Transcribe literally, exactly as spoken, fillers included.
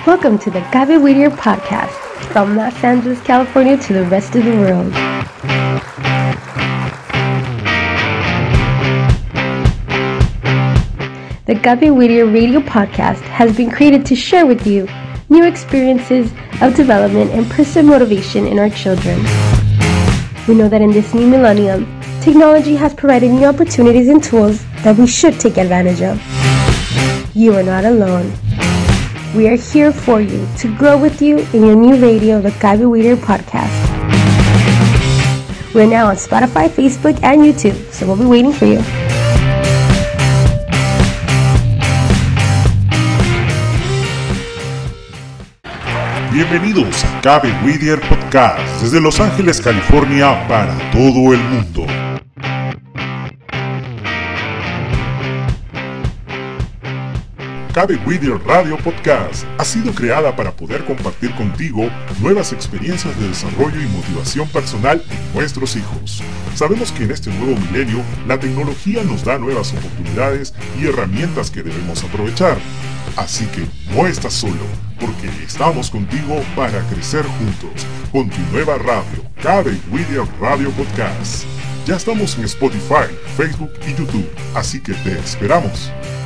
Welcome to the Gaby Whittier podcast, from Los Angeles, California to the rest of the world. The Gaby Whittier radio podcast has been created to share with you new experiences of development and personal motivation in our children. We know that in this new millennium, technology has provided new opportunities and tools that we should take advantage of. You are not alone. We are here for you to grow with you in your new radio, the Gaby Whittier podcast. We're now on Spotify, Facebook, and YouTube, so we'll be waiting for you. Bienvenidos a Gaby Whittier Podcast desde Los Ángeles, California, para todo el mundo. Gaby Whittier Radio Podcast ha sido creada para poder compartir contigo nuevas experiencias de desarrollo y motivación personal en nuestros hijos. Sabemos que en este nuevo milenio la tecnología nos da nuevas oportunidades y herramientas que debemos aprovechar. Así que no estás solo, porque estamos contigo para crecer juntos con tu nueva radio, Gaby Whittier Radio Podcast. Ya estamos en Spotify, Facebook y YouTube, así que te esperamos.